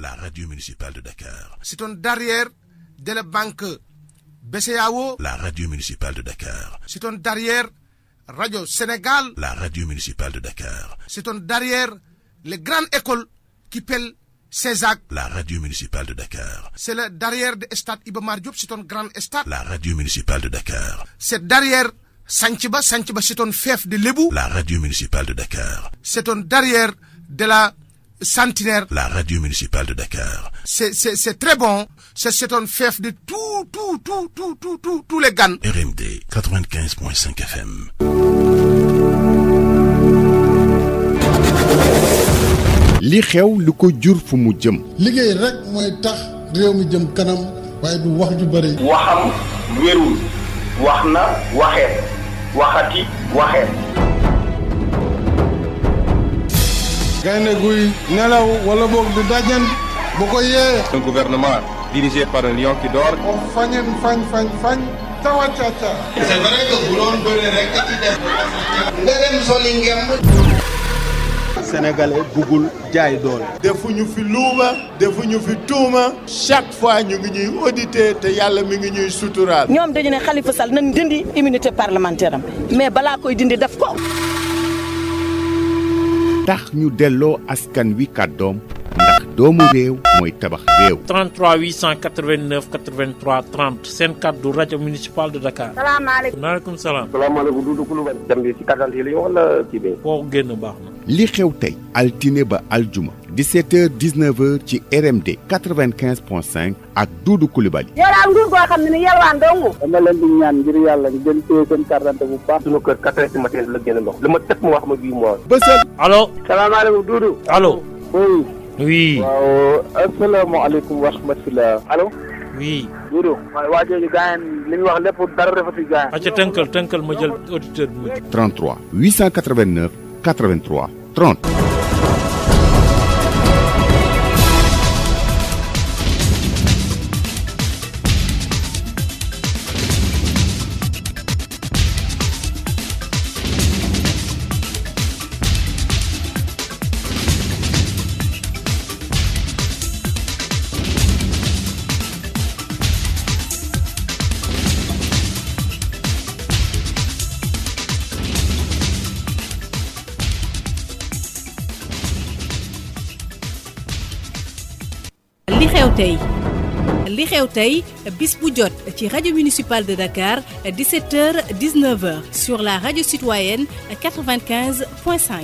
la radio municipale de Dakar. C'est un derrière de la banque BCEAO, la radio municipale de Dakar. C'est un derrière Radio Sénégal, la radio municipale de Dakar. C'est un derrière les grandes écoles qui pèlent CESAC, la radio municipale de Dakar. C'est le derrière de Stade Iba Mar Diop, c'est un grand stade. La radio municipale de Dakar. C'est derrière Santhiaba, c'est un fief de Lébou. La radio municipale de Dakar. C'est un derrière de la Centenaire. La radio municipale de Dakar. C'est très bon. C'est un fief de tous les GAN. RMD 95.5 FM. li xew lu ko jur fu mu jëm. liggéey rek mooy tax réew mi jëm kanam waaye du wax ju bëri. waxam wérul wax na waxeet waxati waxeet. gaynde guy nelaw wala boog du dajan bu ko yee. Un gouvernement dirigé par un lion qui dort. o fañen fañ tawa caca. c'est vrai que bu doon bëre rek ci def nga dem soli ngemb. Sénégalais bugul jaay doole. defuñu fi luuma defuñu fi tuuma chaque fois ñu ngi ñuy auditer te yàlla mi ngi ñuy suturaal. ñoom dañu ne Khalifa Sall nañ dindi immunité parlementaire am mais balaa koy dindi def ko. tax ñu delloo askan wi kàddoom ndax doomu réew mooy tabax réew. 33 889 83 30 seen kàddu rajo municipal de Dakar. salaamaaleykum. maaleykum salaam. salaamaaleykum Doudou Coulibaly. dem bi ci carte yi la ñu wala kii bi. foo génn baax na. li xew tey altine ba aljuma 17h 19h ci RMD 95.5 ak Doudou Coulibaly. yow daal nguur goo xam ne ni yalwaan dong. dama leen di ñaan ngir yàlla ñu gën téye seen carte bu baax. suñu kër 4h du matin la génn ndox. li ma teg mu wax ma bii mois. bësal. allo. salaamaaleykum Doudou. allo. oui. oui. waaw asalaamaaleykum wa rahmatulah. allo. oui. Doudou. waaye waa jooju gaañ li ñu wax lépp dara rafetlu gaañ. acca tënkal ma jël auditeur bi. 33 889 83 30. li xew tey bis bu jot ci rajo municipal de Dakar 17h 19h sur la radio citoyenne 95.5.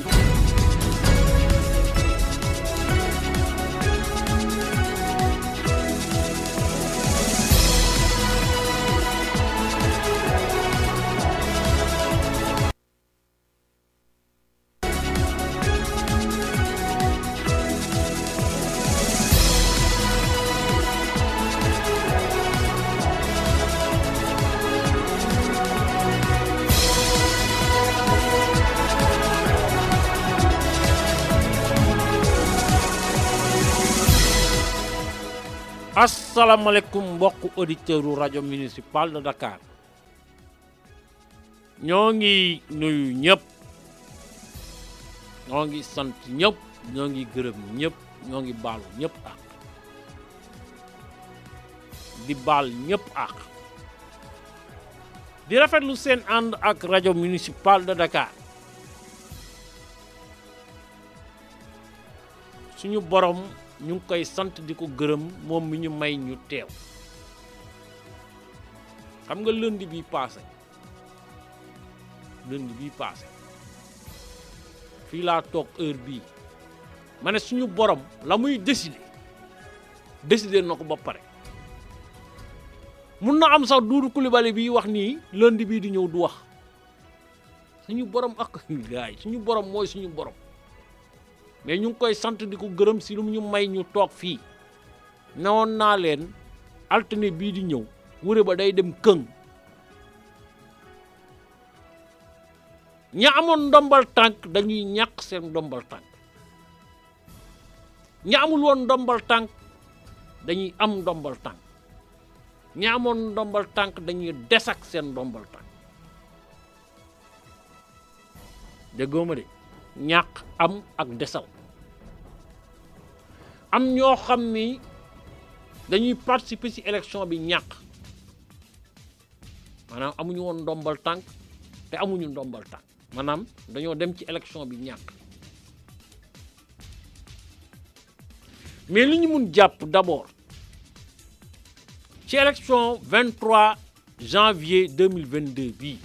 asalaamaaleykum mbokku auditeurs u rajo municipal de Dakar ñoo ngi nuyu ñëpp ñoo ngi sant ñëpp ñoo ngi gërëm ñëpp ñoo ngi baalu ñëpp ak di baal ñëpp ak di rafetlu seen ànd ak rajo municipal de Dakar suñu borom ñu ngi koy sant di ko gërëm moom mi ñu may ñu teew xam nga lundi bi passé fii laa toog heure bii ma ne suñu borom la muy décider na ko ba pare mun na am sax Doudou Coulibaly bi wax nii lundi bii di ñëw du wax suñu borom ak gaay suñu borom mooy suñu borom mais ñu ngi koy sant di ko gërëm si lu ñu may ñu toog fii newoon naa leen altine bii di ñëw wure ba day dem këng ña amoon ndombal tànk dañuy ñàkk seen ndombal tànk ña amul woon ndombal tànk dañuy am ndombal tànk ña amoon ndombal tànk dañuy des ak seen ndombal tànk déggoo ma de ñàkk am ak desal am ñoo xam ni dañuy participer ci élection bi ñàkk maanaam amuñu woon ndombal tànk te amuñu ndombal tànk maanaam dañoo dem ci élection bi ñàkk mais li ñu mun jàpp d'abord ci élection 23 janvier 2022 bii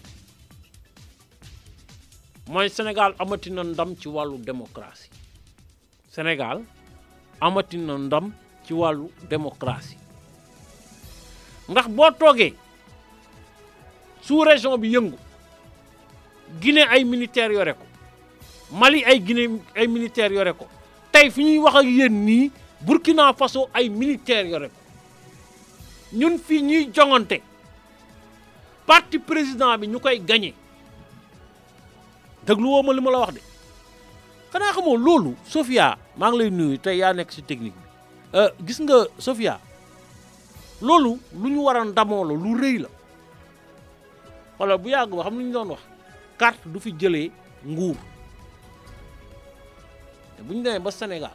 mooy Sénégal amati na ndam ci wàllu démocratie Sénégal amati na ndam ci wàllu démocratie ndax boo toogee sous région bi yëngu Guinée ay militaires yore ko Mali ay Guinée ay militaires yore ko tey fi ñuy wax ak yéen nii Burkina Faso ay militaires yore ko ñun fii ñuy jongante parti président bi ñu koy gagné déglu woo ma li ma la wax de xanaa xamoo loolu Sofia maa ngi lay nuyu tey yaa nekk ci technique bi gis nga Sofia loolu lu ñu war a ndamoo la lu rëy la wala bu yàgg ba xam lu ñu doon wax carte du fi jëlee nguur te bu ñu demee ba Sénégal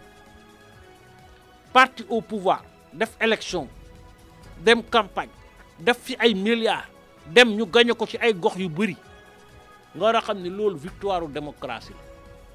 parti au pouvoir def élection dem campagne def fi ay milliards dem ñu gagné ko ci ay gox yu bëri nga war a xam ne loolu victoire u démocratie la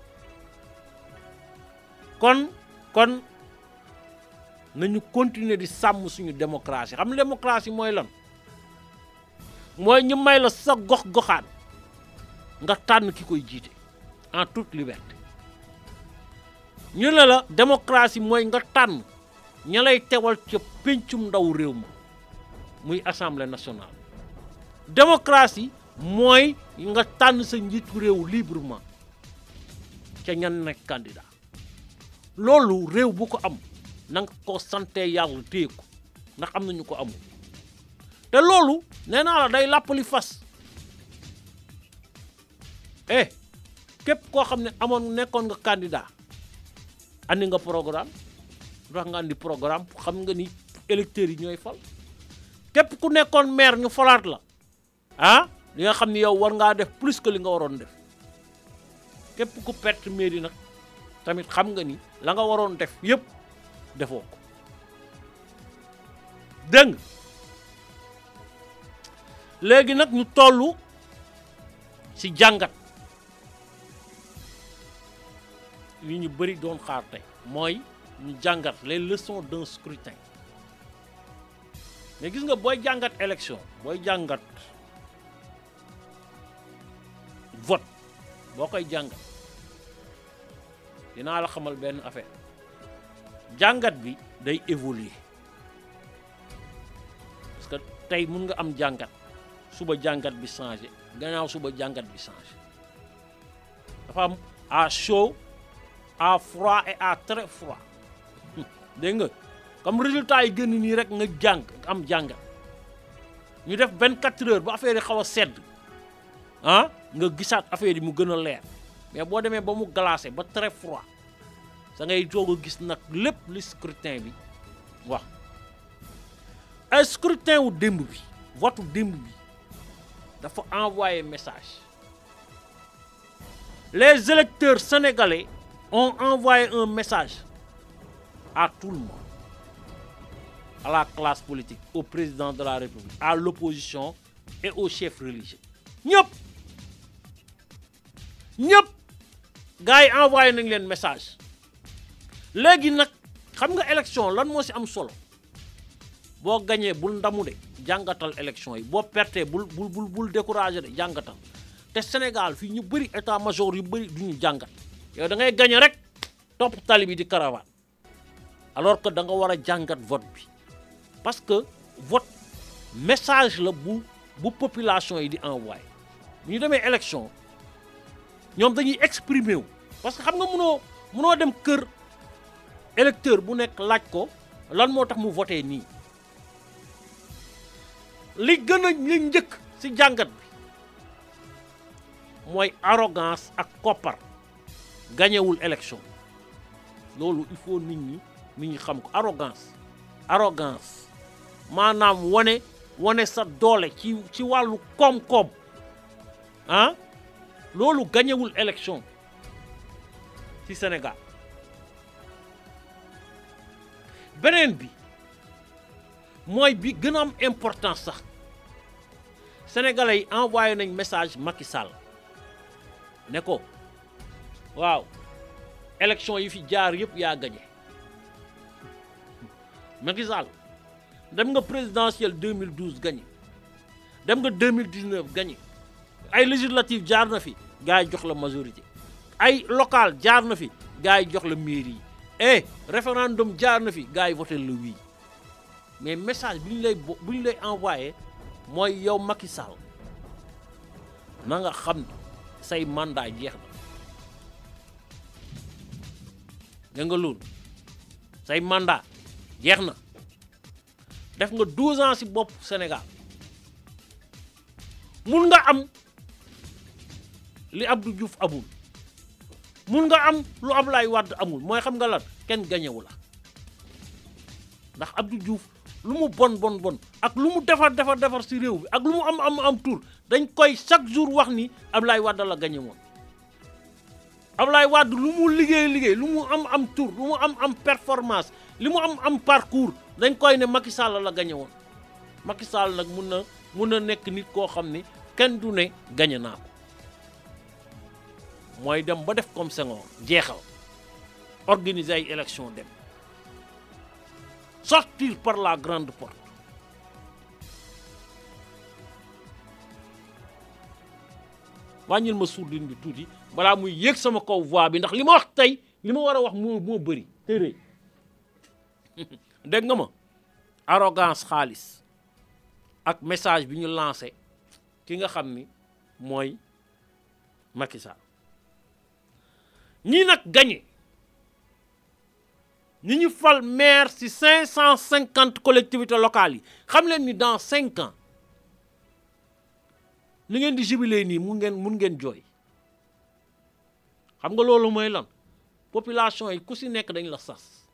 kon nañu continuer di sàmm suñu démocratie xam nga démocratie mooy lan mooy ñu may la sa gox-goxaan nga tànn ki koy jiite en toute liberté ñu ne la démocratie mooy nga tànn ña lay teewal ca péncum ndaw réew ma muy assemblée nationale démocratie mooy nga tànn sa njiitu réew librement ca ñan nekk candidat loolu réew bu ko am na nga ko sante yàlla téye ko ndax am nañu ko amul te loolu nee naa la day làppali fas képp koo xam ne nekkoon nga candidat andi nga programme wax nga andi programme xam nga ni électeurs yi ñooy fal képp ku nekkoon maire ñu falaat la li nga xam ni yow war ngaa def plus que li nga waroon def képp ku perte mairie nag tamit xam nga ni la nga waroon def yépp defoo ko dégg léegi nag ñu tollu ci jàngat li ñu bëri doon xaar tey mooy ñu jàngat les leçons d'un scrutin mais gis nga booy jàngat élection booy jàngat vote boo koy jàngat dinaa la xamal benn affaire jàngat bi day évoluer parce que tey mun nga am jàngat suba jàngat bi changé gannaaw suba jàngat bi changé dafa am à chaud à froid et à très froid dégg nga comme résultat yi génn nii rek nga am jàngat ñu def 24 heures ba affaire yi xaw a sedd nga gisaat affaire yi mu gën a leer mais boo demee ba mu glacé ba très froid sa ngay doog a gis nag lépp li scrutin bi wax ay scrutin wu démb bi vote démb bi dafa envoyé message les électeurs sénégalais ont envoyé un message à tout le monde, à la classe politique, au président de la République, à l'opposition et aux chefs religieux. ñëpp gars yi envoyé nañ leen message léegi nag xam nga élection lan moo ci am solo boo gañee bul ndamu de jàngatal élection yi boo pertee bul découragé de jàngatal te Sénégal fii ñu bëri état major yu bëri duñu jàngat yow da ngay gañe rek topp tali bi di caravane alors que da nga war a jàngat vote bi parce que vote message la bu population yi di envoyé bu ñu demee élection ñoom dañuy exprimer wu parce que xam nga mënoo dem kër électeur bu nekk laaj ko lan moo tax mu voté nii li njëkk ci jàngat bi mooy arrogance ak koppar gañewul élection loolu il faut nit ñi xam ko arrogance maanaam wane sa doole ci wàllu koom-koom loolu gañewul élection ci Sénégal beneen bi mooy bi gën a am importance sax sénégalais yi envoyé nañ message Macky Sall ne ko waaw élection yi fi jaar yëpp yaa gagné Macky Sall dem nga présidentielle 2012 gagné dem nga 2019 gagné ay législative jaar na fi gars yi jox la majorité ay local jaar na fi gars yi jox la mairie yi référendum jaar na fi gars yi voté le oui mais message bi ñu lay envoyé mooy yow Macky Sall na nga xam ne say mandat jeex na da nga loolu say mandat jeex na def nga 12 ans ci bopp Sénégal mun nga am li Abdou Diouf amul mun nga am lu Abdoulaye Wade amul mooy xam nga lan kenn gañewu la ndax Abdou Diouf lu mu bon ak lu mu defar ci réew bi ak lu mu am tour dañ koy chaque jour wax ni Abdoulaye Wade la gañe woon Abdoulaye Wade lu mu liggéey lu mu am tour lu mu am performance li mu am parcours dañ koy ne Macky Sall la gañe woon Macky Sall nag mun na nekk nit koo xam ne kenn du ne gañe naa ko mooy dem ba def comme Senghor jeexal organiser ay élection dem sortir par la grande porte wàññil ma sourdine bi tuuti balaa muy yéeg sama kaw voix bi ndax li ma wax tey li ma war a wax moo bëri te rëy dégg nga ma arrogance xaalis ak message bi ñu lancé ki nga xam ni mooy Macky Sall ñii nag gagné ñi ñu fal maire ci 550 collectivités locales yi xam leen ni dans 5 ans li ngeen di jubilé nii mun ngeen jooy xam nga loolu mooy lan population yi ku ci nekk dañ la sas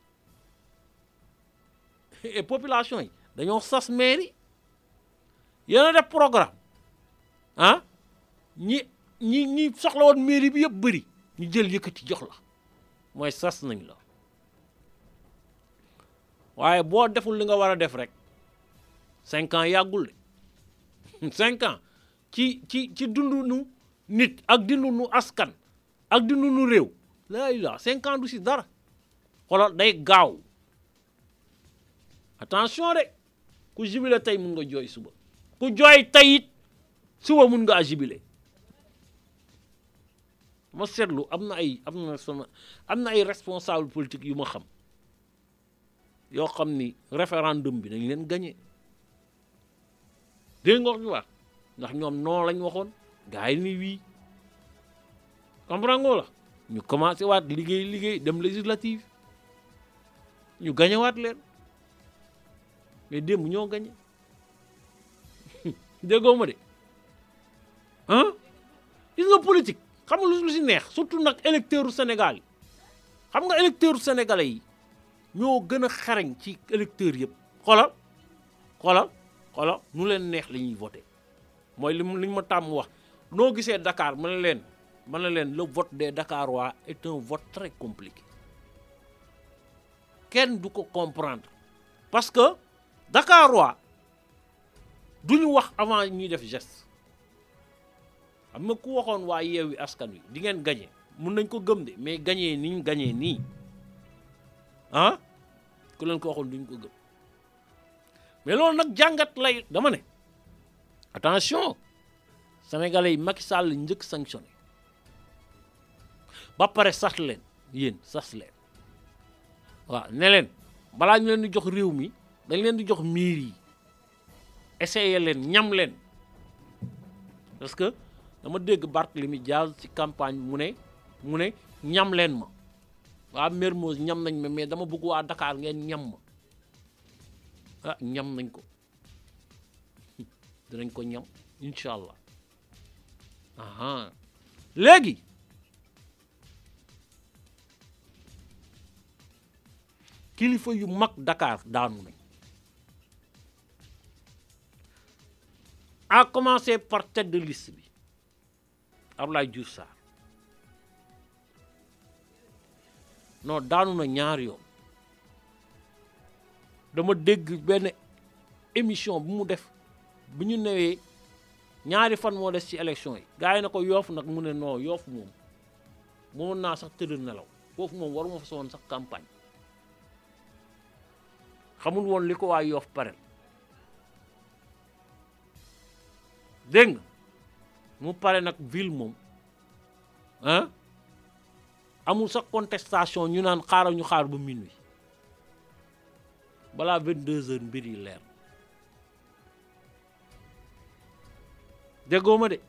et population yi dañoo sas maire yi yéen a def programme ah ñi soxla woon mairie bi yëpp bëri ñu jël yëkkati jox la mooy sas nañ la waaye boo deful li nga war a def rek 5 ans yàggul de 5 ans ci dundu nu nit ak dundu nu askan ak dundu nu réew la 5 ans du si dara xoolal day gaaw attention de ku jubilé tey mun nga jooy suba ku jooy tey it suba mun nga jubilé ma seetlu am na ay responsable politique yu ma xam yoo xam ni référendum bi dañ leen gagné dégg nga wax bi wax ndax ñoom non lañ waxoon gars yi ni wii comprendre nga la ñu commencé waat liggéey dem législative ñu gagné waat leen mais démb ñoo gagné déggoo ma de ah gis nga politique xam nga lu si neex surtout nag électeurs Sénégal yi xam nga électeurs sénégalais yi ñoo gën a xarañ ci électeurs yëpp xoolal nu leen neex la ñuy voté mooy li ma tàmm wax noo gisee Dakar ma ne leen le vote des Dakarois est un vote très compliqué kenn du ko comprendre parce que Dakarois duñu wax avant ñuy def geste xam nga ku waxoon waa Yewwi Askan Wi di ngeen gagné mun nañ ko gëm de mais gagné ni ñu gagné nii ah ku leen ko waxoon duñ ko gëm mais loolu nag jàngat lay dama ne attention sénégalais yi Macky Sall njëkk sanctionné ba pare sas leen waaw ne leen balaa ñu leen di jox réew mi dañ leen di jox miir yi essayé leen ñam leen parce que dama dégg Barthélémy Dias ci campagne mu ne ñam leen ma waa Mermoz ñam nañ ma mais dama bëgg waa Dakar ngeen ñam ma ñam nañ ko dinañ ko ñam incha allah léegi kilifa yu mag Dakar daanu nañ à commencer par tête de liste bi Abdoulaye Diouf Sarr non daanu na ñaar yoon dama dégg benn émission bu mu def bu ñu newee ñaari fan moo des ci élection yi gars yi na ko Yoff nag mu ne non Yoff moom mënoon naa sax tëdd nelaw foofu moom waruma fa soon sax campagne xamul woon li ko waa Yoff parel dégg nga mu pare nag ville moom ah amul sax contestation ñu naan xaaral ñu xaar ba minuit balaa 22 heures mbir yi leer déggoo ma de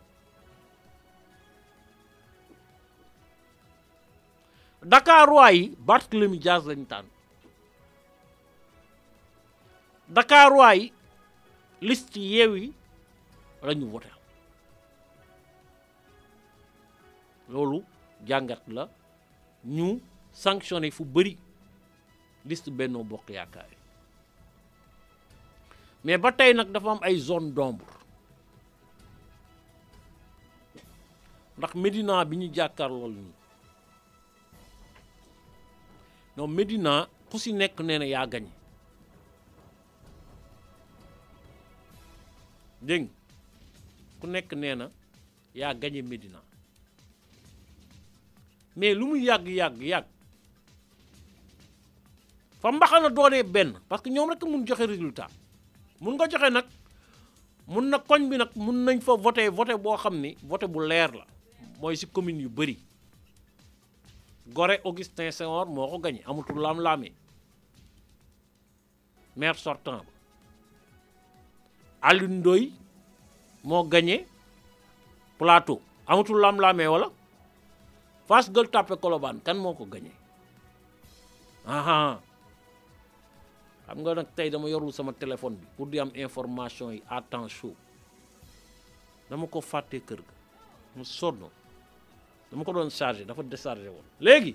Dakar waa yi Barthélémy Dias lañu tànn Dakar waa yi liste Yewwi la ñu voté loolu jàngat la ñu sanctionné fu bëri liste Benno Bokk Yaakaar yi mais ba tey nag dafa am ay zone d'ombre ndax Médina bi ñu jàkkaarlool nii non Médina ku si nekk nee na yaa gañe dégg nga ku nekk nee na yaa gañe Médina mais lu mu yàgg fa mbaxana doonee benn parce que ñoom rek mun joxe résultat mun nga joxe nag mun na koñ bi nag mun nañ fa voté boo xam ni voté bu leer la mooy si commune yu bëri Gorée Augustin Senghor moo ko gañe amatul laam-laamee maire sortant ba Alioune Ndoye moo gañe Plateau amatul laam-laamee wala Fass Gueule Tapée Colobane kan moo ko gañe aha xam nga nag tey dama yorul sama téléphone bi pour di am information yi à temps chaud dama ko fàtte kër ga mu sonn dama ko doon chargé dafa déchargé woon léegi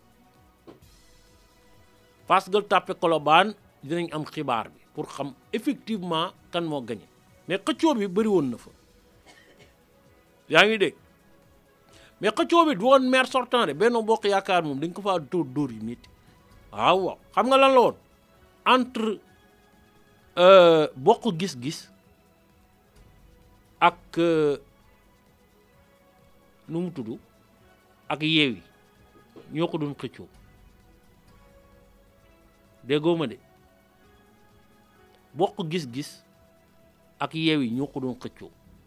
Fass Gueule Tapée Colobane dinañ am xibaar bi pour xam effectivement kan moo gagné mais xëccoo bi bëri woon na fa yaa ngi dégg mais xëccoo bi du woon maire sortant de Benno Bokk Yaakaar moom dañ ko faa dóor yu métti waaw xam nga lan la woon entre bokk gis-gis ak nu mu tudd ak Yewwi ñoo ko doon xëccoo déggoo ma de bokk gis-gis ak Yewwi ñoo ko doon xëccoo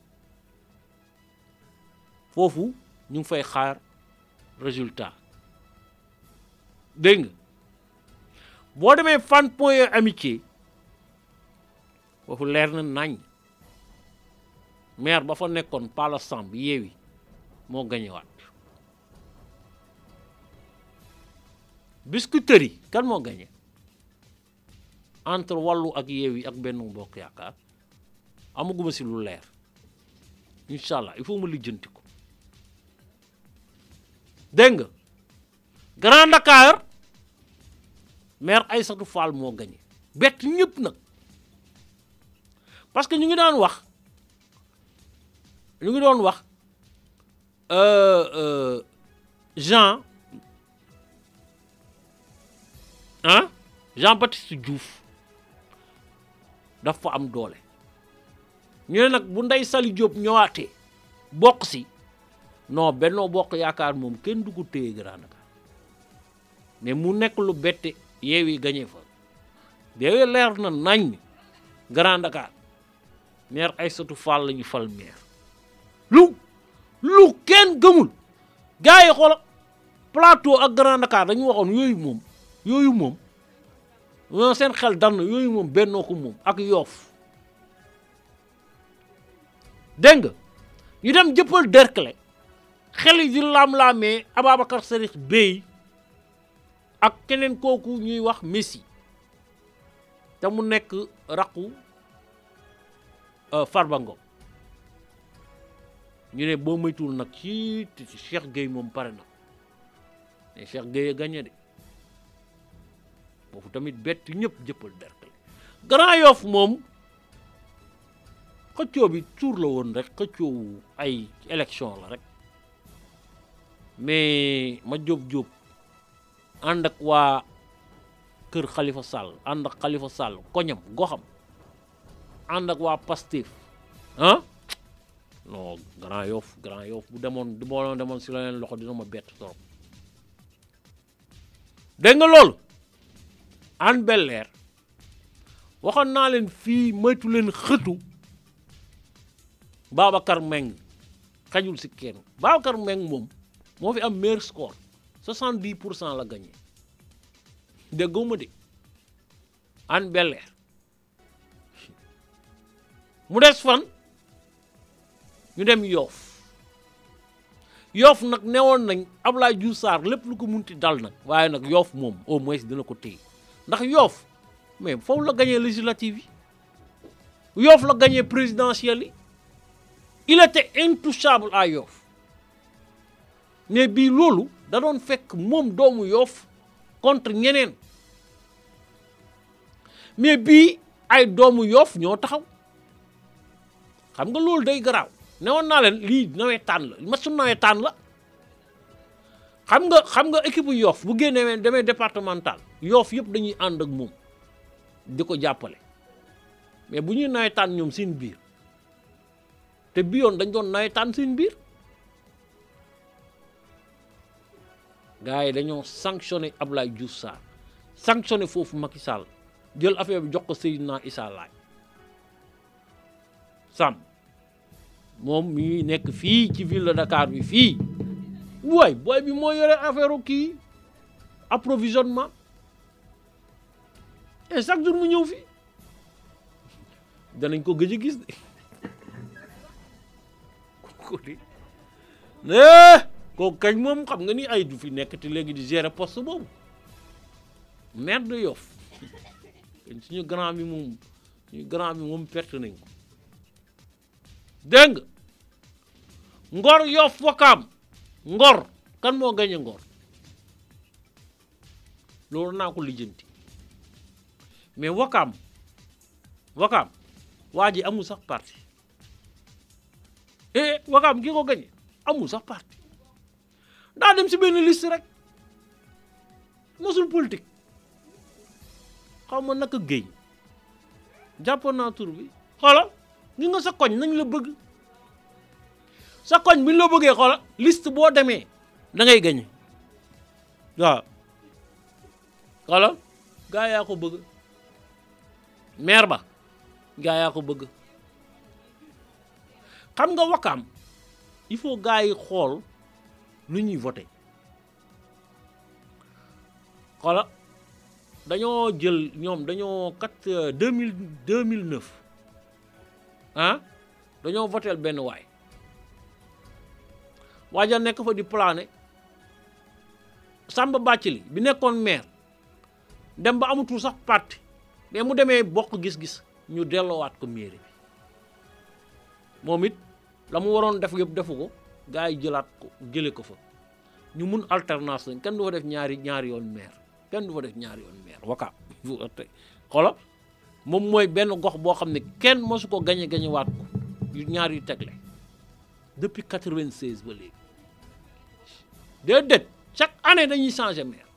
foofu ñu ngi fay xaar résultat dégg nga boo demee Fann Point E Amitié foofu leer na nañ maire ba fa nekkoon Pala Samb Yewwi moo gañewaat Biscuiterie kan moo gañe entre Wallu ak Yewwi ak Benno Bokk Yaakaar amaguma si lu leer incha allah il faut ma lijjanti ko dégg nga Grand Dakar maire Aïssatou Fall moo gañe bett ñëpp nag parce que ñu ngi doon wax Jean Baptiste Diouf dafa am doole ñu ne nag bu Ndeye Saly Diop ñëwaatee bokk si non Benno Bokk Yaakaar moom kenn du ko téye Grand Dakar mais mu nekk lu bette Yewwi gañe fa Yewwi leer na nañ Grand Dakar maire Aïssatou Fall la ñu fal maire lu kenn gëmul gars yi xoola Plateau ak Grand Dakar dañu waxoon yooyu moom seen xel dal na yooyu moom Bennoo ko moom ak Yoff dégg nga ñu dem jëppal Derklé xel yi di laam-laamee Ababacar Sadikh Bèye ak keneen kooku ñuy wax Messi te mu nekk raqu Farba Ngom ñu ne boo moytuwul nag ci Cheikh Gueye moom pare na mais Cheikh Gueye gagné de foofu tamit bett ñëpp jëppal Derklé Grand Yoff moom xëccoo bi tuur la woon rek xëccoo ay élection la rek mais ma jóob ànd ak waa kër Khalifa Sall ànd ak Khalifa Sall koñam goxam ànd ak waa Pastef ah non Grand Yoff bu demoon si leneen loxo dina ma bett trop dégg nga loolu Hann Bel-Air waxoon naa leen fii moytu leen xëtu Babacar Meng xajul si kenn Babacar Meng moom moo fi am meilleur score 70% la gagné déggoo ma de Hann Bel-Air mu des fan ñu dem Yoff nag newoon nañ Abdoulaye Diouf Sarr lépp lu ko munti dal nag waaye nag Yoff moom au moins dina ko téye ndax Yoff mais foofu la gagné législative yi Yoff la gagné présidentielle yi il était intouchable à Yoff mais bii loolu da doon fekk moom doomu Yoff contre ñeneen mais bii ay doomu Yoff ñoo taxaw xam nga loolu day garaaw newoon naa leen lii nawetaan la match nawetaan la xam nga équipe Yoff bu génnee demee départemental Yoff yëpp dañuy ànd ak moom di ko jàppale mais bu ñuy nawetaan ñoom seen biir te bi yoon dañ doon nawetaan seen biir gars yi dañoo sanctionné Abdoulaye Diouf Sarr sanctionné foofu Macky Sall jël affaire bi jox ko Seydina Issa Laye Sam moom mi nekk fii ci ville de Dakar bi fii waay booy bi moo yore affaire kii approvisionnement et chaque jour mu ñëw fii danañ ko gëj a gis de ko di kooku kañ moom xam nga ni ay du fi nekk te léegi di gérer poste boobu maire de Yoff suñu grand bi moom perte nañ ko dégg nga Ngor Yoff Wakaam Ngor kan moo gañe Ngor loolu naa ko lijjanti mais Wakaam waa ji amul sax parti Wakaam ki ko gañe amul sax parti daa dem si benn liste rek mosul politique xaw ma naka géey jàppoon naa tur bi xoolal ñu nga sa koñ nañ la bëgg sa koñ bi ñu la bëggee xoolal liste boo demee da ngay gañe waaw xoolal gaa yaa ko bëgg maire ba gaa yaa ko bëgg xam nga Wakaam il faut gaa yi xool lu ñuy voté xoolal dañoo jël ñoom dañoo 2009 dañoo votel benn waaja nekk fa di plané Samba Bathily bi nekkoon maire dem ba amatul sax parti mais mu demee bokk gis-gis ñu delloowaat ko mairie bi moom it la mu waroon def yëpp defu ko gars yi jële ko fa ñu mun alternance lañ kenn du fa def ñaari yoon maire Wakaam xoolal moom mooy benn gox boo xam ne kenn mosu ko gañe waat ko yu ñaar yu tegle depuis 96 ba léegi déedéet chaque année dañuy changer maire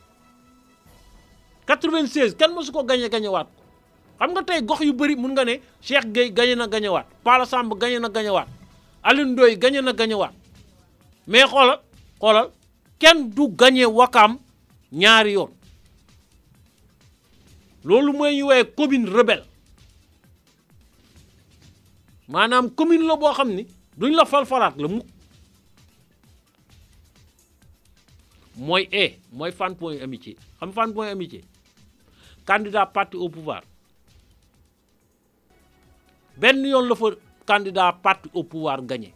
96 kenn mosu ko gañe waat ko xam nga tey gox yu bëri mun nga ne Cheikh Gueye gañe waat Pala Samb gañe waat Alioune Ndoye gañe waat mais xoolal kenn du gañe Wakaam ñaari yoon loolu mooy ñu woowee commune rebelle maanaam commune la boo xam ni duñ la falfalaat la mukk mooy Fann Point Amitié xam Fann Point Amitié candidat parti au pouvoir benn yoon la fa candidat parti au pouvoir gagné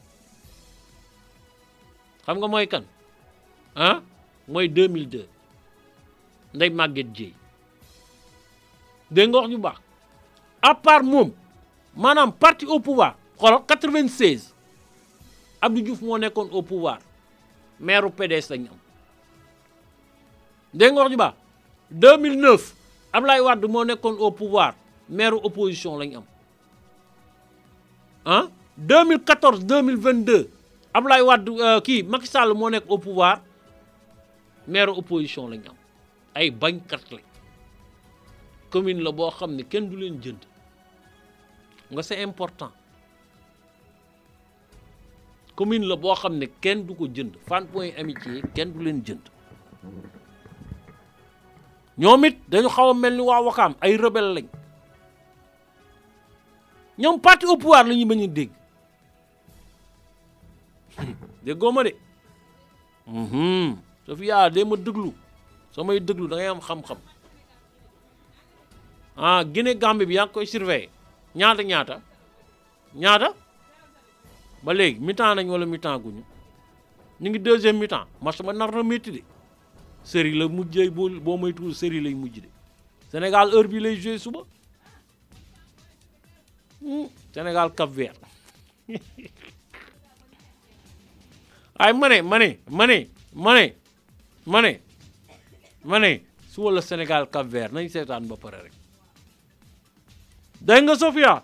xam nga mooy kan mooy 2002 Ndeye Maguette Dièye dégg nga wax ñu baax à part moom maanaam parti au pouvoir xoolal 96 Abdou Diouf moo nekkoon au pouvoir maire PDS lañu am dégg nga wax ñu baax 2009 Ablaye Wade moo nekkoon au pouvoir maire opposition lañu am 2014 2022 Ablaye Wade Macky Sall moo nekk au pouvoir maire opposition lañu am ay bañkat lañ commune la boo xam ne kenn du leen jënd nga c'est important commune la boo xam ne kenn du ko jënd Fann Point Amitié kenn du leen jënd ñoom it dañu xaw a mel ni waa Wakaam ay rebelle lañ ñoom parti au pouvoir la ñuy bañ a dégg déggoo ma de Sofia dee ma déglu samay déglu da ngay am xam-xam ah Guinée Gambie bi yaa ngi koy surveiller ñaata ba léegi mi-temps nañ wala mi-temps guñu ñu ngi deuxième mi-temps match ba nar na métti de série la mujjee boo moytuwul série lay mujj de Sénégal heure bi lay joué suba Sénégal Cap Vert ay ma ne suba la Sénégal Cap Vert nañ seetaan ba pare rek dégg nga Sofia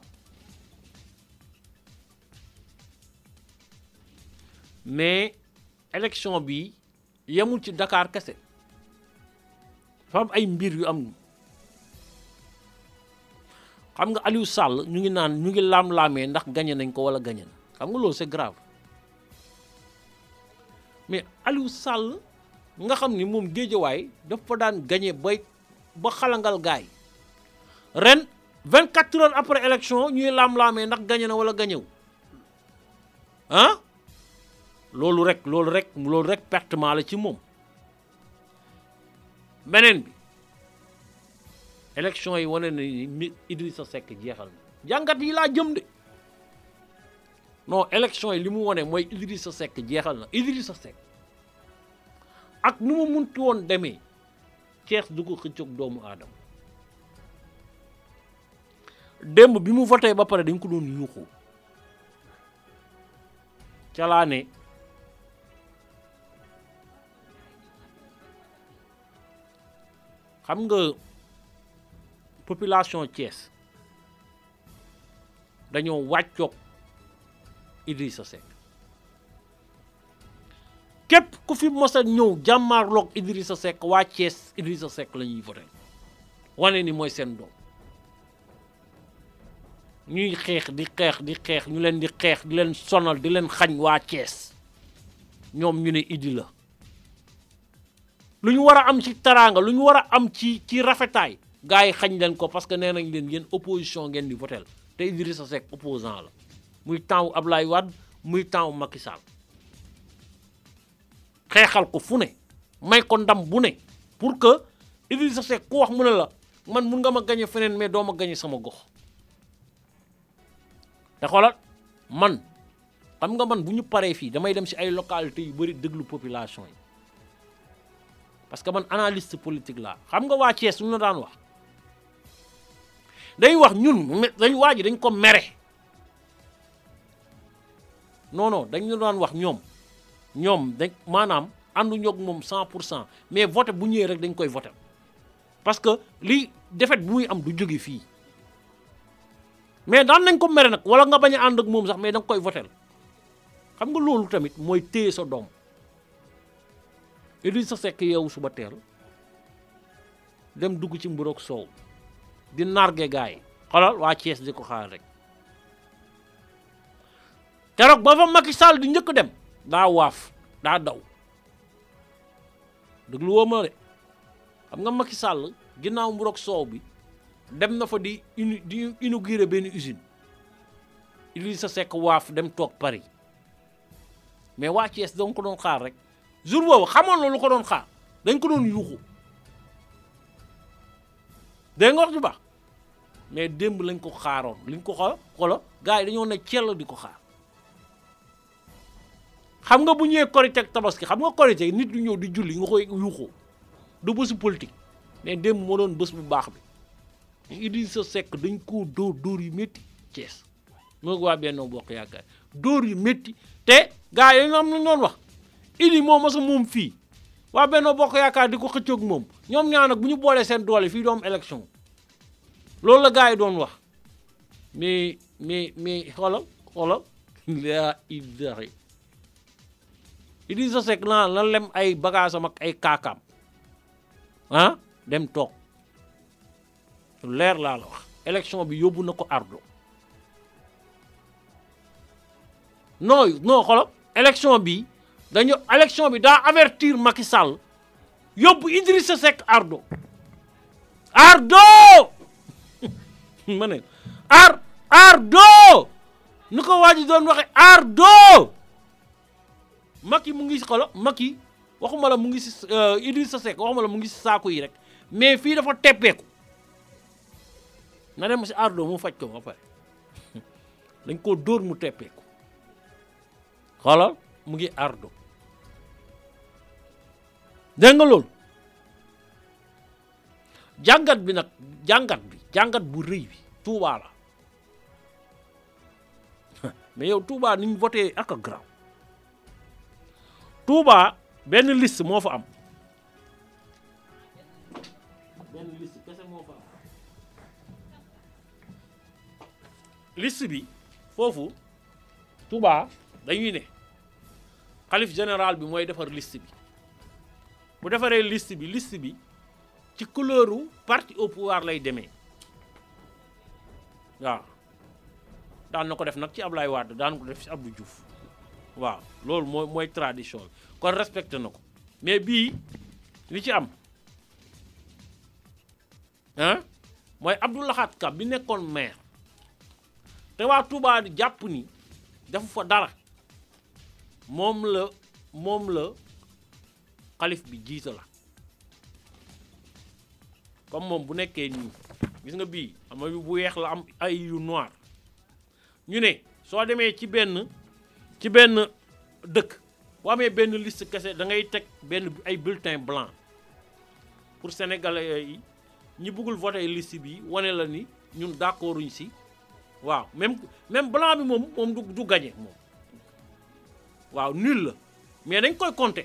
mais élection bi yemul ci Dakar kese dafa am ay mbir yu am xam nga Aliou Sall ñu ngi laam-laamee ndax gagné nañ ko wala gagné na xam nga loolu c'est grave mais Aliou Sall nga xam ni moom Géejawaay dafa daan gagné ba xalangal gaay ren 24 heures après élection ñuy laam-laamee ndax gagné na wala gagné wu ah loolu rek pertement la ci moom beneen bi élection yi wane na ni Idrissa Seck jeexal na jàngat yi laa jëm de non élection yi li mu wane mooy Idrissa Seck jeexal na Idrissa Seck ak nu mu muntu woon demee Thiès du ko xëccoog doomu aadama démb bi mu voté ba pare dañ ko doon yuuxu ca laa ne xam nga population Thiès dañoo wàccoog Idrissa Seck képp ku fi mos a ñëw jàmmaarloog Idrissa Seck waa Thiès Idrissa Seck la ñuy voté wane ni mooy seen doom ñuy xeex ñu leen di xeex di leen sonal di leen xañ waa Thiès ñoom ñu ne Idi la lu ñu war a am ci taraanga lu ñu war a am ci rafetaay gars yi xañ leen ko parce que nee nañ leen yéen opposition ngeen di votel te Idrissa Seck opposant la muy temps wu Ablaye Wade muy temps wu Macky Sall xeexal ko fu ne may ko ndam bu ne pour que Idrissa Seck ku wax mu ne la man mun nga ma gañe feneen mais doo ma gañe sama gox te xoolal man xam nga man bu ñu paree fii damay dem ci ay localités yu bari déglu population yi parce que man analyste politique laa xam nga waa Thiès lu ñu daan wax day wax ñun dañ waa ji dañ ko mere non dañ ñu daan wax ñoom dañ maanaam ànduñu ak moom 100% mais voté bu ñëwee rek dañ koy voté parce que li défaite bu muy am du jóge fii mais daan nañ ko mere nag wala nga bañ a ànd ak moom sax mais da nga koy voté xam nga loolu tamit mooy téye sa doom Idrissa Seck yeewu suba teel dem dugg ci mburoog soow di narge gaay yi xoolal waa Thiès di ko xaar rek keroog ba fa Macky Sall di njëkk dem daa waaf daa daw déglu woo ma de xam nga Macky Sall ginnaaw mburoog soow bi dem na fa di inaugurer benn usine Idrissa Seck waaf dem toog Paris mais waa Thiès doon ko doon xaar rek jour boobu xamoon loolu ko doon xaar dañ ko doon yuuxu dégg nga wax ju baax mais démb lañ ko xaaroon liñ ko xolo gars yi dañoo ne cell di ko xaar xam nga bu ñëwee Korité ak Tabaski xam nga Korité nit ñu ñëw di julli nga koy yuuxu du bésu politique mais démb moo doon bés bu baax bi Idrissa Seck dañ koo dóor yu métti Thiès moo waa Benno Bokk Yaakaar dóor yu métti te gars yi am nañ doon wax Idi moom mos a moom fii waa Benno Bokk Yaakaar di ko xëccoog moom ñoom ñaar nag bu ñu boolee seen doole fii doom élection loolu la gars yi doon wax mais xoolal laa ilaha Idrissa Seck la lem ay bagaasam ak ay kaakaam dem toog lu leer laa la wax élection bi yóbbu na ko ardo non xoolal élection bi daa avertir Macky Sall yóbbu Idrissa Seck ardo ma ne ardo nu ko waa ji doon waxe ardo Macky mu ngi si xoolal Macky waxuma la mu ngi si Idrissa Seck waxuma la mu ngi si saako yi rek mais fii dafa teppeeku na dem si ardo mu faj ko ba pare dañ koo dóor mu teppeeku xoolal mu ngi ardo dégg nga loolu jàngat bu rëy bi Touba la mais yow Touba ni ñu voté ak a graw Touba benn liste moo fa am liste bi foofu Touba dañuy ne xalif général bi mooy defar liste bi bu defaree liste bi ci couleuru parti au pouvoir lay demee waaw daan na ko def nag ci Ablaye Wade daan ko def ci Abdou Diouf waaw loolu mooy tradition kon respecté na ko mais bii li ci am mooy Abdou Lahad Ka bi nekkoon maire te waa Touba di jàpp ni defu fa dara moom la xalif bi jiite la comme moom bu nekkee nii gis nga bii ama bi bu weex la am ay yu noir ñu ne soo demee ci benn dëkk boo amee benn liste kese da ngay teg ay bulletin blanc pour sénégalais yi ñi bëggul voter liste bi wane la ni ñun d'accorduñ si waaw même blanc bi moom du gagné moom waaw nul la mais dañ koy compter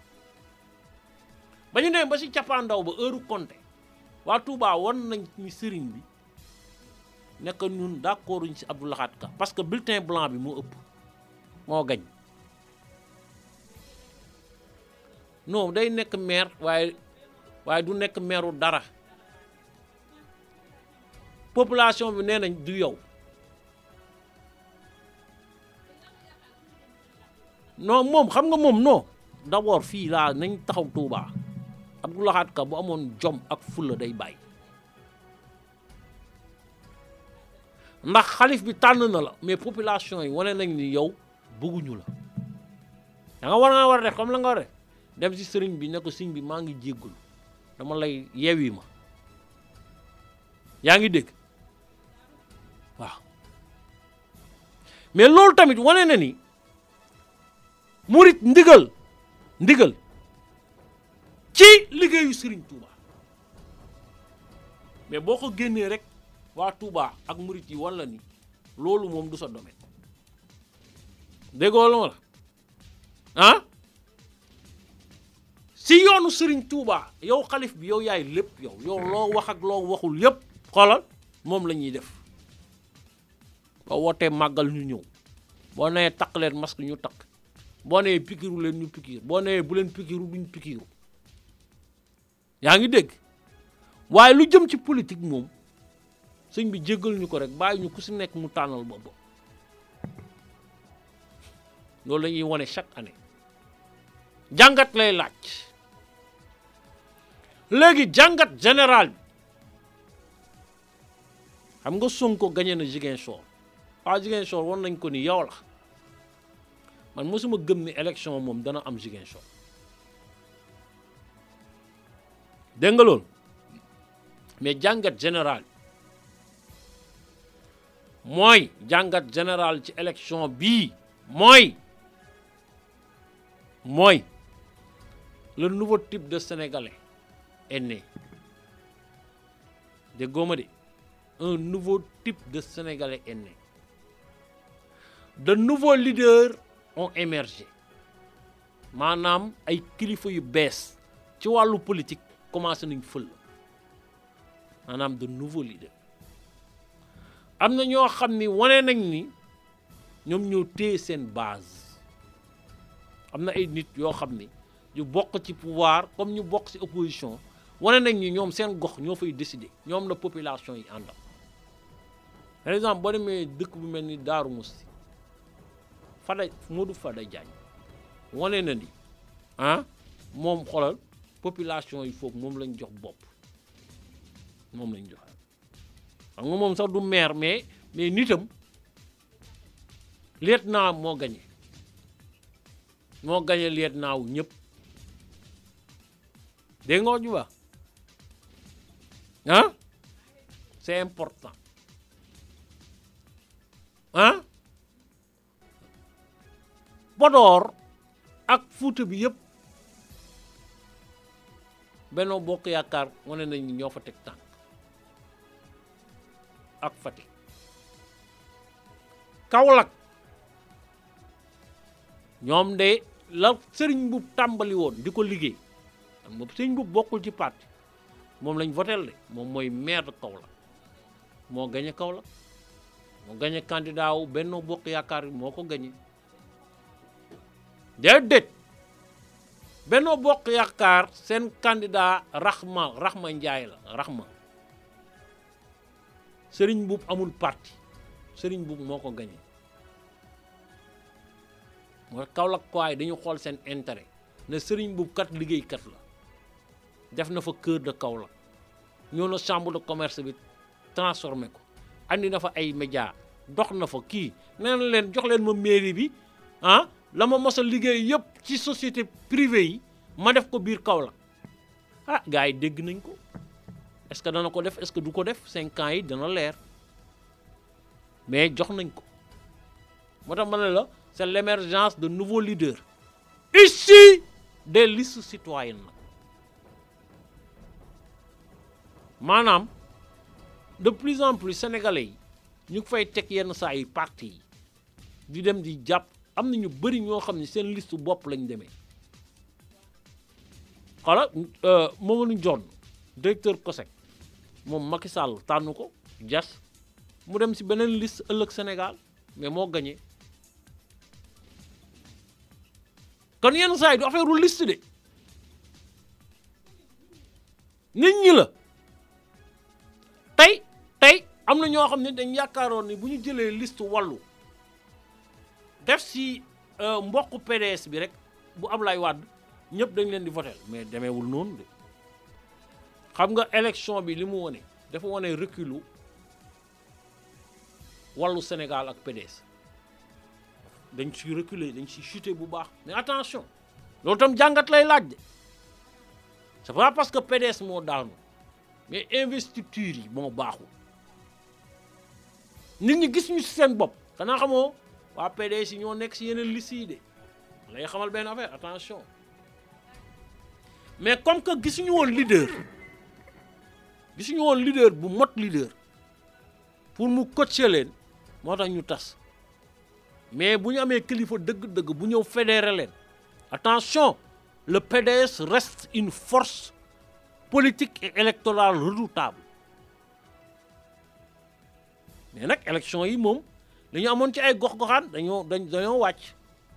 ba ñu dem ba si cappaandaw ba heure compter waa Touba won nañ ni sëriñ bi nekk ñun d'accorduñ si Abdou Lahad Ka parce que bulletin blanc bi moo ëpp moo gañ non day nekk maire waaye du nekk maireu dara population bi nee nañ du yow non moom xam nga moom non d'abord fii laa nañ taxaw Touba Abdou Lahad Ka bu amoon jom ak fulla day bàyyi ndax xalif bi tànn na la mais population yi wane nañ ni yow bëgguñu la da nga war a def comme la nga war a def dem si sëriñ bi ne ko sëriñ bi maa ngi jéggul dama lay yeewi ma yaa ngi dégg waaw mais loolu tamit wane na ni murit ndigal ci liggéeyu Serigne Touba mais boo ko génnee rek waa Touba ak murit yi wala ni loolu moom du sa domaine déggoo la ma la si yoonu Serigne Touba yow xalif bi yow yaay lépp yow loo wax ak loo waxul yépp xoolal moom la ñuy def boo wootee màggal ñu ñëw boo nee takk leen masque ñu takk boo nee pikiru leen ñu pikiir boo nee bu leen pikiru duñ pikiru yaa ngi dégg waaye lu jëm ci politique moom sëñ bi jéggal ñu ko rek bàyyi ñu ku si nekk mu tànnal boppam loolu la ñuy wane chaque année jàngat lay laaj léegi jàngat général bi xam nga Sonko gagné na Ziguinchor Ziguinchor war nañ ko ni yow la man mosuma gëm ni élection moom dana am Ziguinchor dégg nga loolu mais jàngat général mooy jàngat général ci élection bii mooy le nouveau type de Sénégalais est né déggoo ma de un nouveau type de Sénégalais est né de nouveaux leaders ont émergé maanaam ay kilifa yu bees ci wàllu politique commencé nañ fël maanaam de nouveaux leaders am na ñoo xam ni wane nañ ni ñoom ñoo téye seen base am na ay nit yoo xam ni ñu bokk ci pouvoir comme ñu bokk ci opposition wane nañ ni ñoom seen gox ñoo fay décider ñoom la population yi àndal par exemple boo demee dëkk bu mel ni Daaru Musti Modou Fada Diagne wane na ni moom xoolal population yi foofu moom lañ jox bopp moom lañ jox xam nga moom sax du maire mais nitam lieutenant moo gagné lieutenant wu ñëpp dégg nga wax ju baax c'est important Podor ak Fuuta bi yëpp Benno Bokk Yaakaar wane nañ ni ñoo fa teg tànk ak Fatick Kaolack ñoom de la Serigne Mboup tàmbali woon di ko liggéey xam nga Serigne Mboup bokkul ci parti moom lañ votel de moom mooy maire de Kaolack moo gañe Kaolack moo gañe candidat wu Benno Bokk Yaakaar bi moo ko gañe déedéet Benno Bokk Yaakaar seen candidat Rahma Ndiaye la Rahma Serigne Mboup amul parti Serigne Mboup moo ko gañe mooy Kaolack ko ay dañu xool seen intérêt ne Serigne Mboup kat liggéeykat la def na fa cœur de Kaolack ñoo na chambre de commerce bi transformé ko andi na fa ay média dox na fa kii nee na leen jox leen ma mairie bi la ma mos a liggéey yëpp ci société privée yi ma def ko biir Kaolack gars yi dégg nañ ko est-ce que dana ko def est-ce que du ko def 5 ans yi dana leer mais jox nañ ko moo tax ma ne la c'est l'émergence de nouveaux leaders issus des listes citoyennes nag maanaam de plus en plus sénégalais yi ñu fay teg yenn saa yi parti yi di dem di jàpp am na ñu bëri ñoo xam ne seen liste bopp lañ demee xala Mamadou Ndione directeur COSEC moom Macky Sall tànn ko jas mu dem si beneen liste ëllëg Sénégal mais moo gagné kon yenn saa yi du affaire liste de nit ñi la tey am na ñoo xam ne dañ yaakaaroon ni bu ñu jëlee liste wàllu def si mbokku PDS bi rek bu Ablaye Wade ñëpp dañ leen di voter mais demeewul noonu de xam nga élection bi li mu wone dafa wone reculu wàllu Sénégal ak PDS dañ ci reculer dañ ci chuter bu baax mais attention loolu tam jàngat lay laaj de c'est pas parce que PDS moo daanu mais investiture yi moo baaxul nit ñi gis ñu ci seen bopp xanaa xamoo waa PDS yi ñoo nekk ci yeneen liste yi de lay xamal benn affaire attention mais comme que gisuñu woon leader bu mot leader pour mu coacher leen moo tax ñu tas mais bu ñu amee kilifa dëgg-dëgg bu ñëw fédérer leen attention le PDS reste une force politique et électorale redoutable mais nag élection yi moom dañu amoon ci ay gox-goxaan dañoo wàcc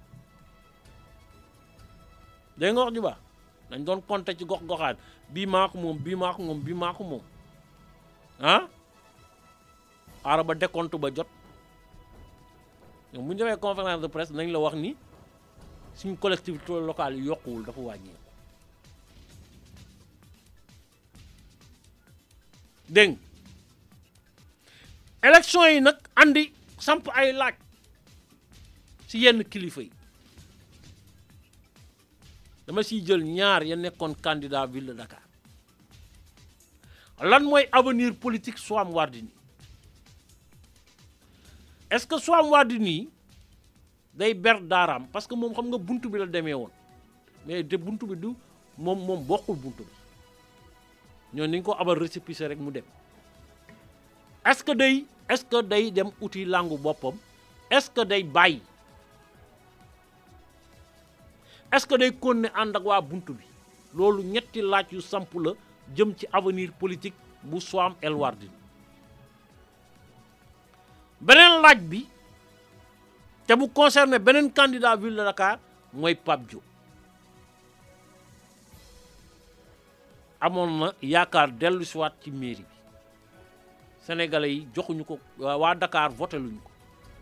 day nga wax ju baax dañ doon compter ci gox-goxaan bii maa ko moom xaaral ba décompte ba jot ñoom bu ñu defee conférence de presse nañ la wax ni suñu collectivité locale yi yokkuwul dafa wàññi dégg élection yi nag andi samp ay laaj ci yenn kilifa yi dama siy jël ñaar ya nekkoon candidat ville de Dakar lan mooy avenir politique Soham Wardini est-ce que Soham Wardini day ber daaraam parce que moom xam nga buntu bi la demee woon mais de buntu bi du moom bokkul buntu bi ñoo ni nga ko abal récépissé rek mu dem est-ce que day dem uti langu boppam est-ce que day bàyyi est-ce que day continuer ànd ak waa buntu bi loolu ñetti laaj yu samp la jëm ci avenir politique bu Soham El Wardini beneen laaj bi te bu concerné beneen candidat ville de Dakar mooy Pape Diop amoon na yaakaar dellu si waat ci mairie bi sénégalais yi joxuñu ko waa Dakar voté luñu ko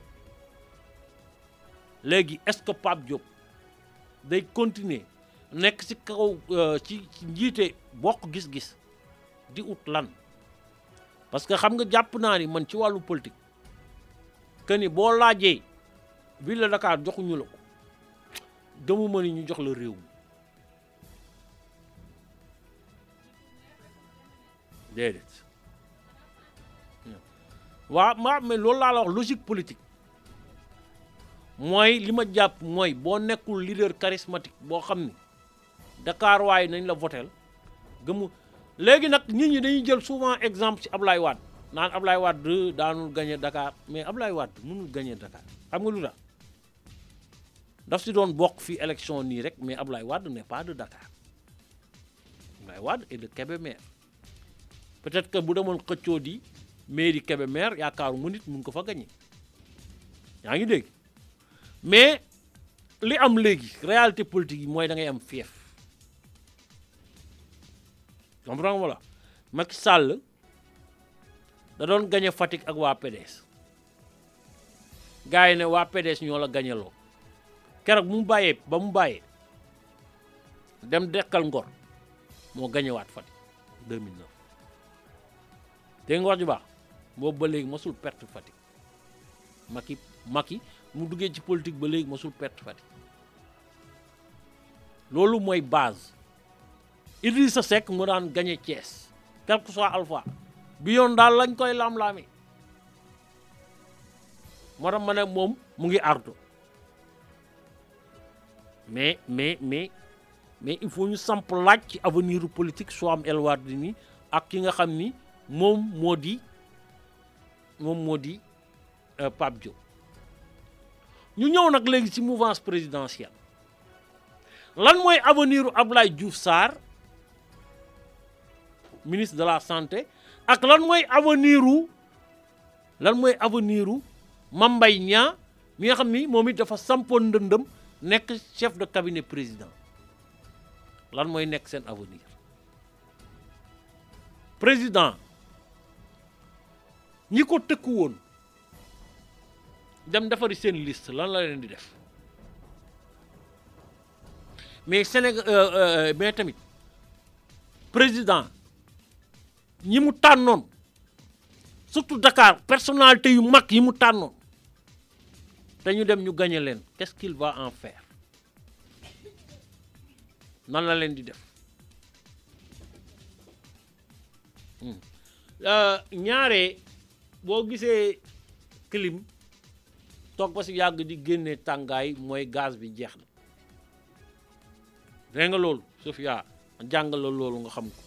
léegi est-ce que Pape Diop day continuer nekk ci kaw ci njiite bokk gis-gis di ut lan parce que xam nga jàpp naa ni man ci wàllu politique que ni boo laajee ville de Dakar joxuñu la ko gëmuma ni ñu jox la réew mi déedéet waaw mais loolu laa la wax logique politique mooy li ma jàpp mooy boo nekkul leader charismatique boo xam ni Dakar waaye nañ la votel gëmu léegi nag nit ñi dañuy jël souvent exemple ci Ablaye Wade naan Ablaye Wade daanul gagné Dakar mais Ablaye Wade mënul gagné Dakar xam nga lu tax daf si doon bokk fii élection nii rek mais Ablaye Wade n'est pas de Dakar Ablaye Wade est de Kébémer peut-être que bu demoon xëccoo di mairie Kébémer yaakaaru mu nit mun ko fa gagné yaa ngi dégg mais li am léegi réalité politique yi mooy da ngay am fief comprends nga la Macky Sall da doon gagné Fatick ak waa PDS gars yi ne waa PDS ñoo la gagné loo keroog ba mu bàyyee dem dekkal Ngor moo gagné waat Fatick 2009 dégg nga wax ju baax boobu ba léegi mosul perte Fatick Macky mu duggee ci politique ba léegi mosul perte Fatick loolu mooy base Idrissa Seck mu daan gagné Thiès quel que soit Alpha bi yoon daal lañ koy lam-laame moo tax ma ne moom mu ngi ardo mais il faut ñu samp laaj ci avenir politique Soham El Wardini ak ki nga xam ni moom moo di Pape Diop ñu ñëw nag léegi ci mouvance présidentielle lan mooy avenir u Abdoulaye Diouf Sarr ministre de la santé ak lan mooy avenir u Mame Mbaye Niang mi nga xam ni moom it dafa sampoon ndëndëm nekk chef de cabinet président lan mooy nekk seen avenir président ñi ko tëkku woon dem defari seen liste lan la leen di def mais Sénégal mais tamit président ñi mu tànnoon surtout Dakar personnalité yu mag yi mu tànnoon te ñu dem ñu gagné leen qu'est-ce qu'il va en faire nan la leen di def ñaare boo gisee clim toog ba si yàgg di génne tàngaay mooy gaz bi jeex na dégg nga loolu Sofia jàngal la loolu nga xam ko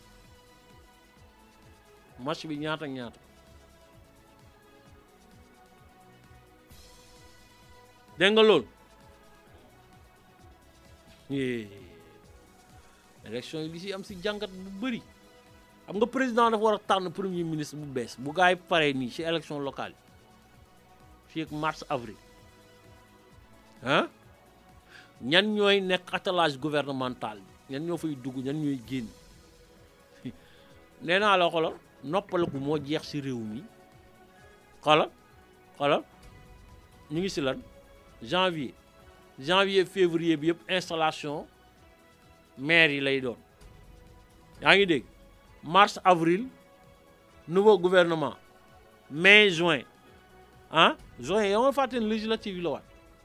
match bi ñaata dégg nga loolu élection yi li si am si jàngat bu bëri xam nga président dafa war a tànn premier ministre bu bees bu gaay yi paree nii ci élection locale yi fii ak mars avril ñan ñooy nekk attelage gouvernemental bi ñan ñoo fay dugg ñan ñooy génn nee naa la xoolal noppaliku moo jeex ci réew mi xoolal ñu ngi ci lan janvier février bi yëpp installation maire yi lay doon yaa ngi dégg mars avril nouveau gouvernement mai juin juin yow nga fàtte ne législative yi la waat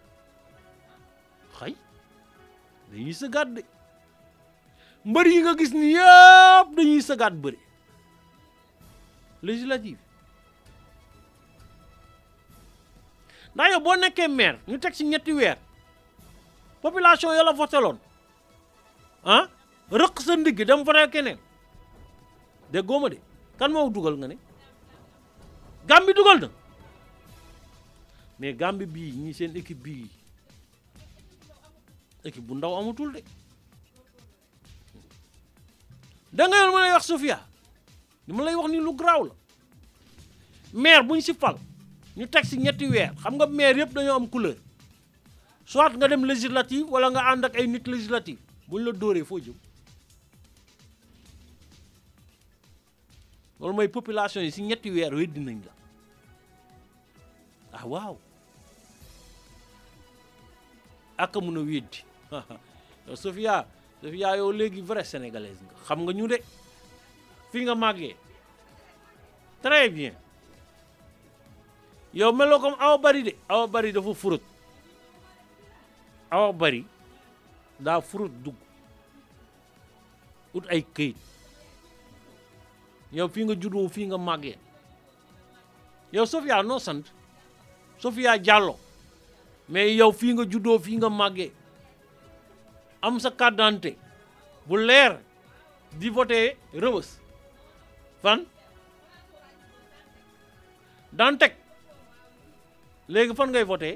xëy dañuy sëgaat de mbër yi nga gis ni yëpp dañuy sëgaat bëri législative ndax yow boo nekkee maire ñu teg ci ñetti weer population ya la voteloon rëq sa ndigg dem voté keneen de góoma de kan moo dugal nga ne Gambie dugal na mais Gambie bii ñi seen équipe bii équipe bu ndaw amatul de da nga yoon ma lay wax Sofia li ma lay wax ni lu garaaw la maire bu ñu si fal ñu teg si ñetti weer xam nga maire yëpp dañoo am couleur soit nga dem législative wala nga ànd ak ay nit législative buñ la dóoree foo jëm loolu mooy population yi si ñetti weer weddi nañ la ah waaw ak mun a weddi yow Sofia yow léegi vrai sénégalaise nga xam nga ñu de fii nga màggee très bien yow meloo comme Awa Bari de Awa Bari dafa furut Awa Bari daa furut dugg ut ay këyit yow fii nga juddoo fii nga màggee yow Sofia noo sant Sofia Diallo mais yow fii nga juddoo fii nga màggee am sa carte d'identité bu leer di voté Rebeuss fan Dantec léegi fan ngay voté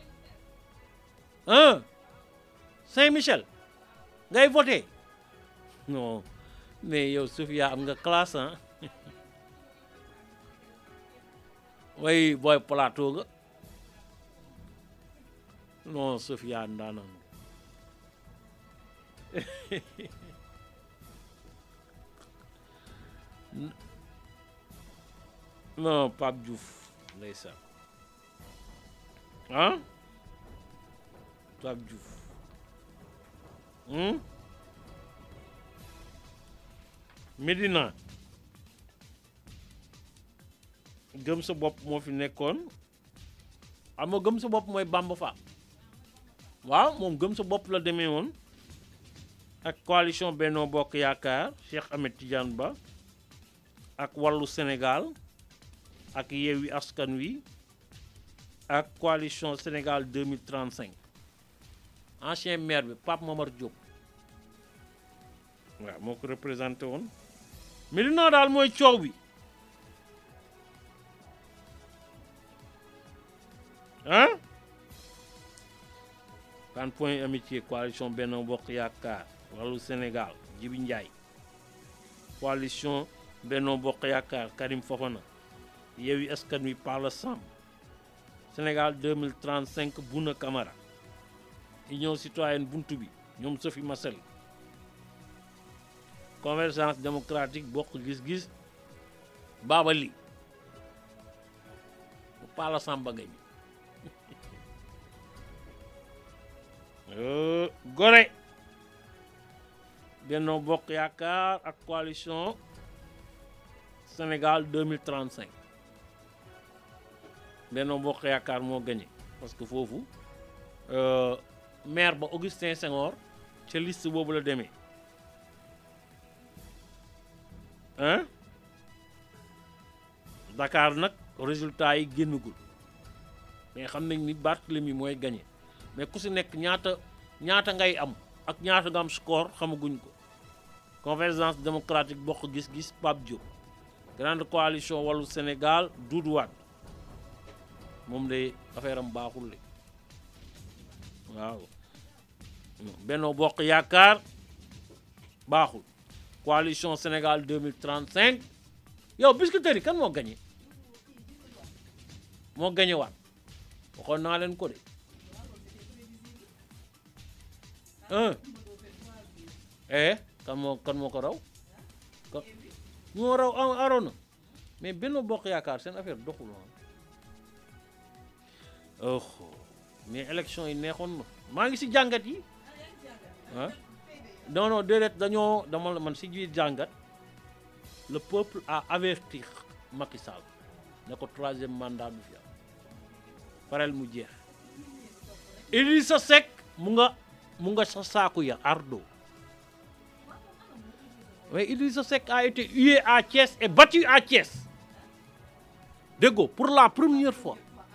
Saint-Michel ngay voté non mais yow Sofia am nga classe ah way booy plateau nga non Sofia ndaanaan non Pape Diouf ndeysaan ah Pape Diouf Médina gëm sa bopp moo fi nekkoon xam nga gëm sa bopp mooy Bamba Fall waaw moom gëm sa bopp la demee woon ak coalition Benno Bokk Yaakaar Cheikh Ahmed Tidiane Ba ak Wallu Sénégal ak Yewwi Askan Wi ak coalition Sénégal 2035 ancien maire bi Pape Momar Diop waaw moo ko représenté woon Médina daal mooy coow bi ah kan point amitié coalition Benno Bokk Yaakaar Wallu Sénégal Djibi Ndiaye coalition Benno Bokk Yaakaar Karim Fofana Yewwi Askan Wi Palla Samb Sénégal 2035 Bouna Camara Union Citoyenne Buntu Bi ñoom Sophie Massel Convergence démocratique Bokk Gis-Gis Baba Ly Palla Samb ba gañ Gorée Benno Bokk Yaakaar ak coalition Sénégal 2035 Benno Bokk Yaakaar moo gagné parce que foofu maire ba Augustin Senghor ca liste boobu la demee hein Dakar nag résultat yi génnagul mais xam nañ ni Barthélemy mooy gagné mais ku si nekk ñaata ngay am ak ñaata nga am score xamaguñ ko Convergence démocratique Bokk Gis-Gis Pape Diop grande coalition Wallu Sénégal Doudou Wade moom de affaire am baaxul le waaw Benno Bokk Yaakaar baaxul coalition Sénégal 2035 yow Biscuiterie kan moo gagné waat waxoon naa leen ko de kan moo ko raw moo raw Arona mais Benno Bokk Yaakaar seen affaire doxul mais élection yi neexoon na maa ngi si jàngat yi ah non déedéet dama man si biir jàngat le peuple a averti Macky Sall ne ko 3e mandat du fi am parel mu jeex Idrissa Seck mu nga sa saaku ya ardo mais Idrissa Seck a été hué à Thiès et battu à Thiès déggo pour la première fois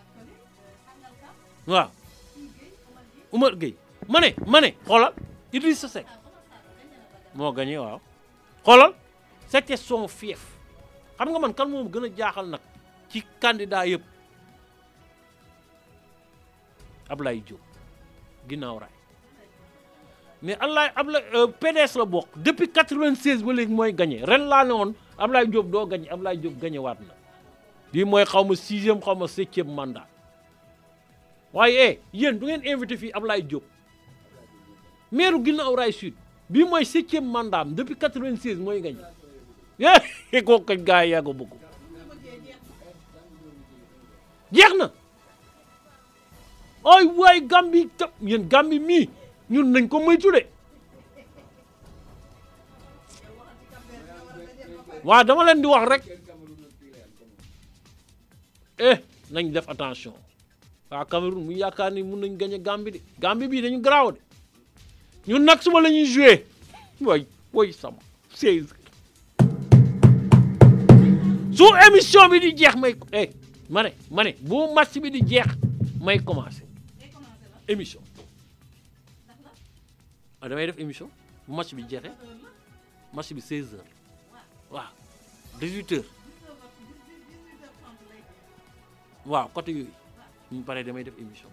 waaw Oumar Gueye ma ne xoolal Idrissa Seck moo gagné waaw xoolal c'était son fief xam nga man kan moom gën a jaaxal nag ci candidat yëpp Ablaye Diop ginnaaw raay mais Ablaye PDS la bokk depuis 96 ba léegi mooy gagné ren laa ne woon Ablaye Diop doo gagné Ablaye Diop gagné waat na lii mooy xaw ma 6e xaw ma 7e mandat waaye yéen du ngeen invité fii Ablaye Diop maire ginnaaw raay sud bii mooy 7e mandat am depuis 96 mooy gagné kooku kañ gaa yi yaa ko bëgg jeex na ay waay Gambie ta yéen Gambie mii ñun nañ ko moytu de waaw dama leen di wax rek nañ def attention waa Cameroun mu yaakaar ni mun nañ gagner Gambie de Gambie bii dañu garaaw de ñun nag suba la ñuy joué way sama 16 su émission bi di jeex may ma ne bu match bi di jeex may commencé émission damay def émission bu match bi jeexee match bi 16 heures waaw 18 heures waaw côté yooyu ñu pare damay def émission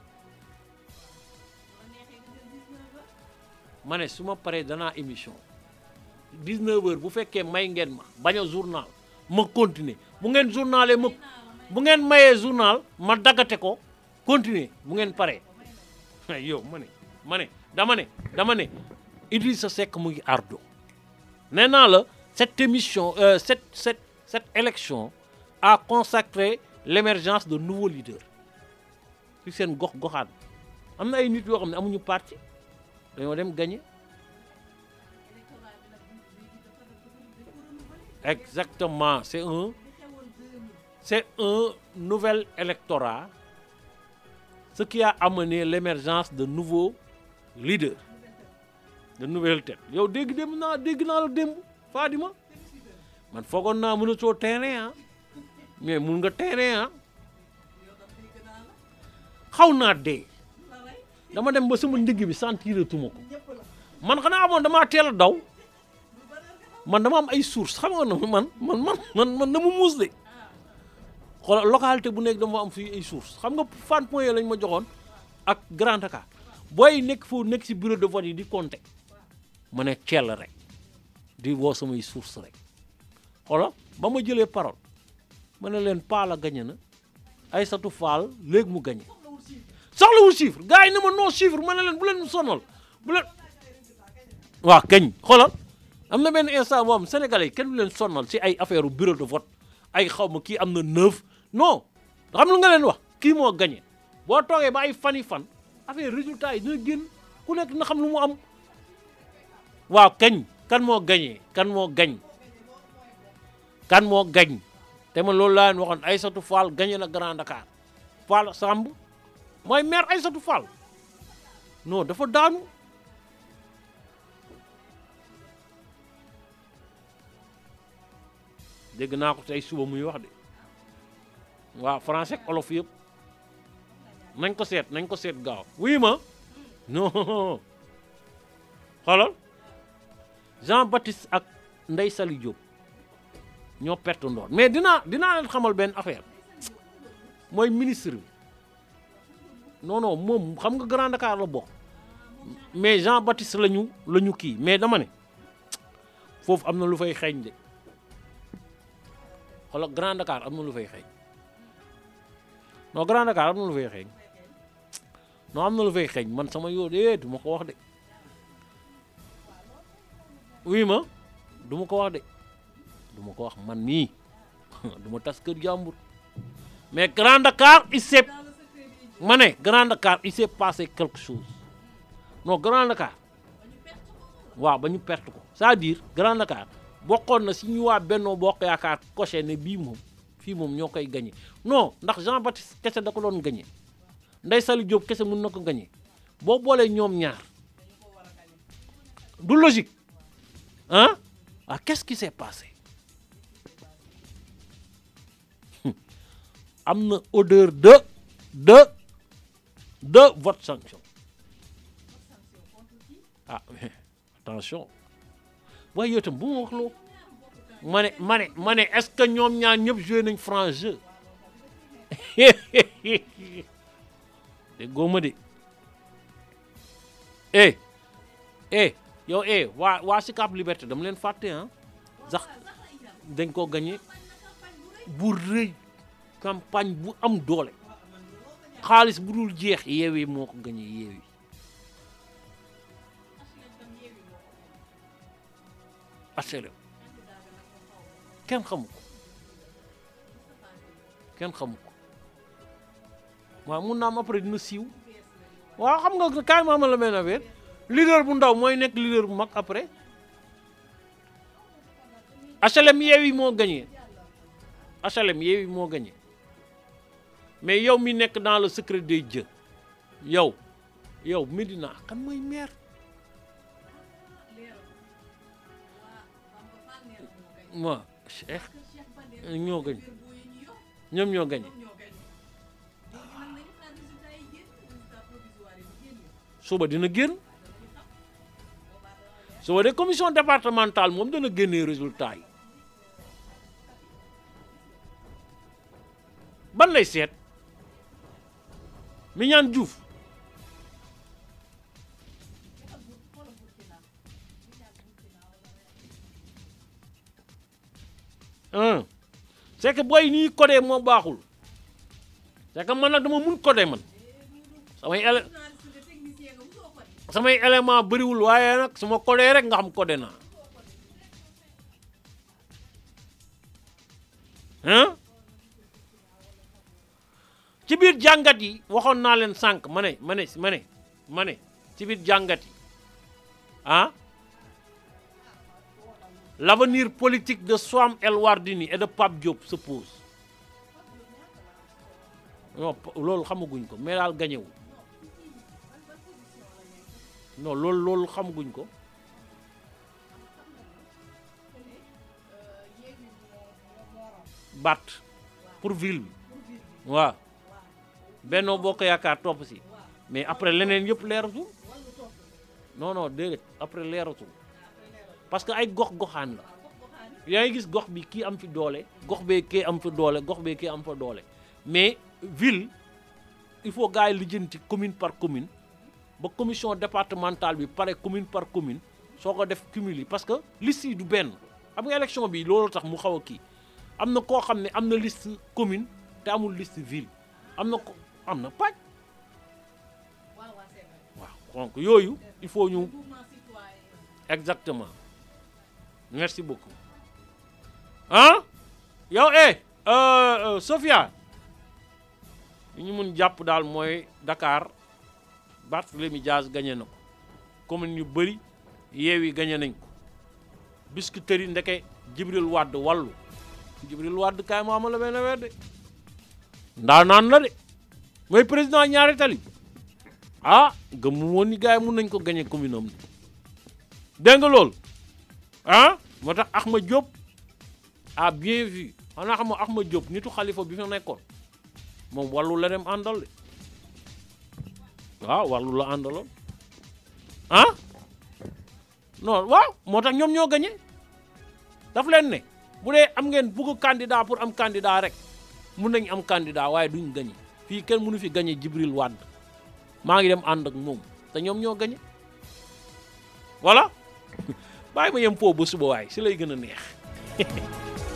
ma ne su ma paree danaa émission 19 heures bu fekkee may ngeen ma bañ a journal ma continuer bu ngeen journalee ma bu ngeen mayee journal ma daggate ko continuer bu ngeen paree yow dama ne Idrissa Seck mu ngi ardo nee naa la cette émission cette élection a consacré l'émergence de nouveaux leaders ci seen gox-goxaan am na ay nit yoo xam ne amuñu parti dañoo dem gagner exactement c'est un nouvel électorat ce qui a amené l'émergence de nouveaux leaders de nouvelles têtes yow dégg naa la démb Fadima man foogoon naa mën a soo terrain mais mun nga terrain xaw naa dee dama dem ba sama ndigg bi sentiratuma ko man xanaa amoon damaa teel a daw man dama am ay source xam nga man dama muus de xoolal localité bu nekk dama am fii ay source xam nga fan point lañ ma joxoon ak Grand Dakar booy nekk foofu nekk si bureau de vote yi di compter ma ne ceel rek di woo samay source rek xoolal ba ma jëlee parole ma ne leen Paala gagné na Aïssatou Fall léegi mu gagné soxlawul chiffre gars yi ne ma non chiffre ma ne leen bu leen sonal bu leen waaw kañ xoolal am na benn instant moom sénégalais yi kenn du leen sonal si ay affaire bureau de vote ay xaw ma kii am na 9 non xam lu nga leen wax kii moo gagné boo toogee ba ay fan affaire résultat yi dina génn ku nekk na xam lu mu am waaw kañ kan moo gagné kan moo gañ te man loolu laa leen waxoon Aïssatou Fall gagné na Grand Dakar Fall Samb mooy maire Aïssatou Fall non dafa daanu dégg naa ko tey suba muy wax de waaw français ak olof yëpp nañ ko seet gaaw oui ma non xoolal Jean-Baptiste ak Ndeye Saly Diop ñoo perte ndoor mais dinaa leen xamal benn affaire mooy ministre bi non moom xam nga Grand Dakar la bokk mais Jean-Baptiste lañu kii mais dama ne foofu am na lu fay xeeñ de xoolal Grand Dakar am na lu fay xeeñ non Grand Dakar am na lu fay xeeñ non am na lu fay xeeñ man sama yoo de du ma ko wax de oui ma du ma ko wax de du ma ko wax man nii du ma tas kër jàmbur mais Grand Dakar il s'est passé quelque chose non Grand Dakar waaw ba ñu perte ko c'est-à-dire Grand Dakar bokkoon na si ñu waa Benno Bokk Yaakaar coché ne bii moom fii moom ñoo koy gagné non ndax Jean-Baptiste kese da ko doon gagné Ndeye Saly Diop kese mën na ko gagné boo boolee ñoom ñaar du logique ah qu'est-ce qui s'est passé am na odeur de vote sanction mais attention waaye yow itam bu ma wax loo ma ne est-ce que ñoom ñaar ñëpp joué nañ franc jeu de góoma de yow waa Sicap Liberté dama leen fàtte sax dañ ko gagné bu rëy campagne bu am doole xaalis bu dul jeex Yewwi moo ko gagné Yewwi HLM kenn xamu ko kenn xamu ko waaw mun naa am après dina siiw waaw xam nga kaay ma la benn affaire leader bu ndaw mooy nekk leader bu mag après HLM Yewwi moo gagné HLM Yewwi moo gagné mais yow mi nekk dans le secret des dieux yow Médina kan mooy maire waaw Cheikh ñoo gagné ñoom ñoo gagné suba dina génn suba de commission départementale moom dana génnee résultat yi ban lay seet Mignane Diouf c'est que booy nii codé moo baaxul c'est que man nag dama mun codé man samay élément bëriwul waaye nag su ma codé rek nga xam codé naa ci biir jàngat yi waxoon naa leen sànq ma ne ci biir jàngat yi l'avenir politique de Soham El Wardini et de Pape Diop se pose non loolu xamaguñ ko mais daal gañewul non loolu xamaguñ ko bat pour ville bi waaw Benno Bokk Yaakaar topp si mais après leneen yëpp leeratul non déedéet après leeratul parce que ay gox-goxaan la yaa ngi gis gox bi kii am fi doole gox bee kii am fa doole gox bee kii am fa doole mais ville il faut gars yi lijjanti commune par commune ba commission départementale bi pare commune par commune soo ko def cumul parce que liste yi du benn xam nga élection bi loolu tax mu xaw a kii am na koo xam ne am na liste commune te amul liste ville am na pàcc waaw donc yooyu il faut ñu exactement merci beaucoup yow Sophia li ñu mun jàpp daal mooy Dakar Barthélémy Dias gagné na ko commune yu bëri Yewwi gagné nañ ko Biscuiterie ndeke Djibril Wade wàllu Djibril Wade kaay ma la benn weer de ndaa naan la de mooy président ñaari tali gëmmu woon ni gars yi mun nañ ko gagné commune am dégg nga loolu moo tax Ahmed Diop a bien vu xanaa xam nga Ahmed Diop nitu Khalifa bi fa nekkoon moom wàllu la dem àndal de waaw wàllu la àndaloon non waaw moo tax ñoom ñoo gagné daf leen ne bu dee am ngeen bugg candidat pour am candidat rek mun nañ am candidat waaye duñ gagné fii kenn mënu fi gagné Djibril Wade maa ngi dem ànd ak moom te ñoom ñoo gagné voilà bàyyi ma yem foofu ba suba waay si lay gën a neex